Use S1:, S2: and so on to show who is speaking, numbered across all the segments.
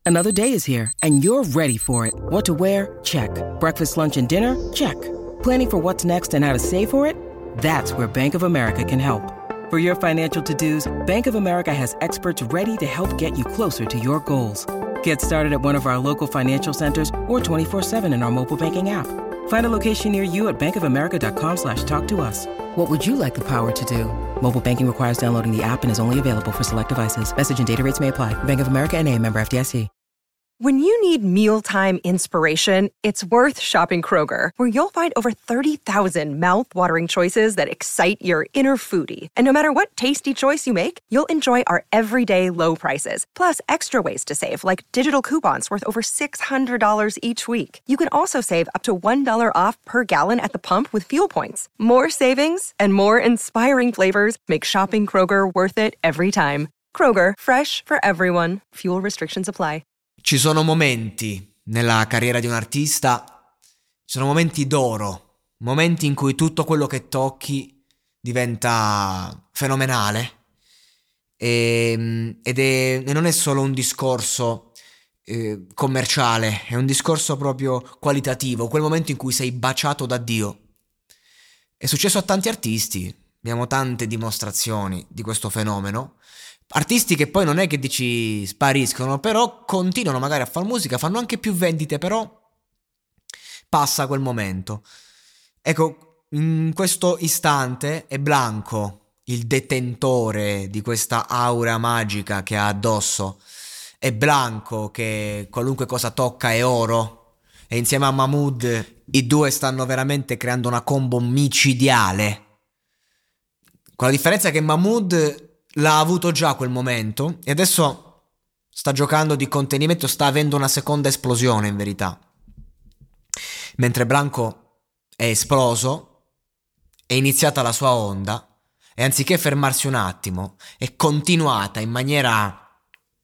S1: Another day is here, and you're ready for it. What to wear? Check. Breakfast, lunch, and dinner? Check. Planning for what's next and how to save for it? That's where Bank of America can help. For your financial to-dos, Bank of America has experts ready to help get you closer to your goals. Get started at one of our local financial centers or 24/7 in our mobile banking app. Find a location near you at bankofamerica.com/talktous. What would you like the power to do? Mobile banking requires downloading the app and is only available for select devices. Message and data rates may apply. Bank of America N.A., member FDIC.
S2: When you need mealtime inspiration, it's worth shopping Kroger, where you'll find over 30,000 mouth-watering choices that excite your inner foodie. And no matter what tasty choice you make, you'll enjoy our everyday low prices, plus extra ways to save, like digital coupons worth over $600 each week. You can also save up to $1 off per gallon at the pump with fuel points. More savings and more inspiring flavors make shopping Kroger worth it every time. Kroger, fresh for everyone. Fuel restrictions apply.
S3: Ci sono momenti nella carriera di un artista, ci sono momenti d'oro, momenti in cui tutto quello che tocchi diventa fenomenale e non è solo un discorso commerciale, è un discorso proprio qualitativo, quel momento in cui sei baciato da Dio. È successo a tanti artisti, abbiamo tante dimostrazioni di questo fenomeno. Artisti che poi non è che dici spariscono, però continuano magari a fare musica, fanno anche più vendite, però passa quel momento. Ecco, in questo istante è Blanco il detentore di questa aura magica che ha addosso. È Blanco che qualunque cosa tocca è oro, e insieme a Mahmood i due stanno veramente creando una combo micidiale, con la differenza che Mahmood l'ha avuto già quel momento e adesso sta giocando di contenimento, sta avendo una seconda esplosione in verità, mentre Blanco è esploso, è iniziata la sua onda e anziché fermarsi un attimo è continuata in maniera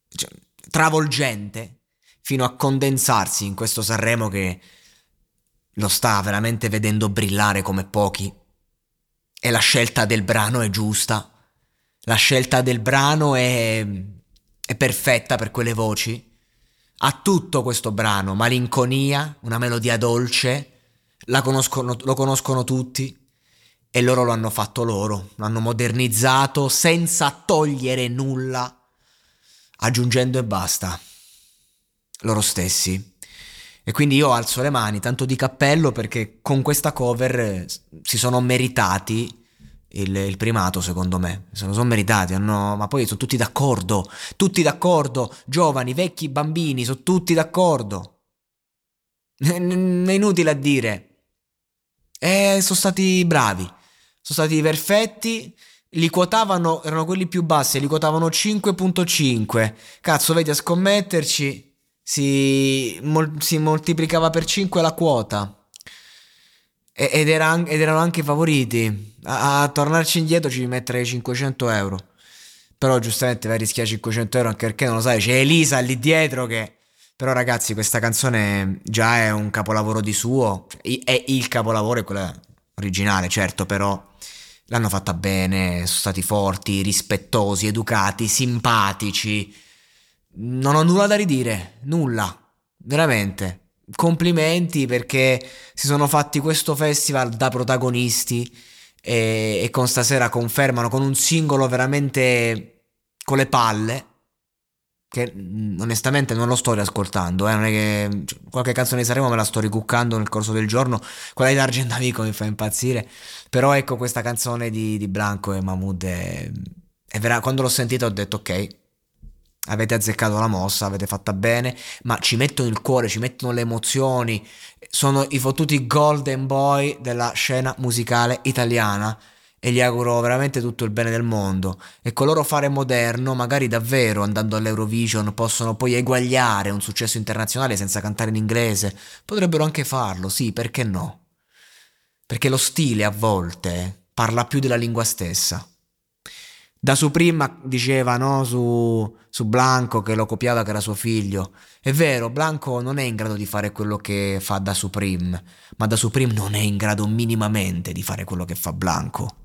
S3: travolgente fino a condensarsi in questo Sanremo che lo sta veramente vedendo brillare come pochi. E la scelta del brano è giusta. La scelta del brano è perfetta per quelle voci. Ha tutto questo brano, malinconia, una melodia dolce, lo conoscono tutti e loro lo hanno fatto loro, lo hanno modernizzato senza togliere nulla, aggiungendo e basta, loro stessi. E quindi io alzo le mani, tanto di cappello, perché con questa cover si sono meritati il primato, secondo me. Se lo sono meritati, ma poi sono tutti d'accordo, giovani, vecchi, bambini, sono tutti d'accordo. È inutile a dire. Sono stati bravi, sono stati perfetti. Li quotavano, erano quelli più bassi, li quotavano 5.5. Cazzo, vedi, a scommetterci si moltiplicava per 5 la quota. Ed erano anche favoriti. A tornarci indietro ci metterei 500 euro. Però giustamente vai a rischiare 500 euro, anche perché non lo sai, c'è Elisa lì dietro che... Però ragazzi, questa canzone già è un capolavoro di suo. È il capolavoro, è quella originale, certo, però l'hanno fatta bene, sono stati forti, rispettosi, educati, simpatici. Non ho nulla da ridire, nulla, veramente. Complimenti, perché si sono fatti questo festival da protagonisti e con stasera confermano con un singolo veramente con le palle, che onestamente non lo sto riascoltando, non è che qualche canzone di Sanremo me la sto ricuccando nel corso del giorno, quella di D'Argento Amico mi fa impazzire, però ecco, questa canzone di Blanco e Mahmood quando l'ho sentita ho detto ok, avete azzeccato la mossa, avete fatta bene, ma ci mettono il cuore, ci mettono le emozioni, sono i fottuti golden boy della scena musicale italiana e gli auguro veramente tutto il bene del mondo. E con loro fare moderno, magari davvero andando all'Eurovision possono poi eguagliare un successo internazionale senza cantare in inglese, potrebbero anche farlo, sì, perché no? Perché lo stile a volte parla più della lingua stessa. Da Supreme diceva, no, su Blanco, che lo copiava, che era suo figlio. È vero, Blanco non è in grado di fare quello che fa Da Supreme, ma Da Supreme non è in grado minimamente di fare quello che fa Blanco.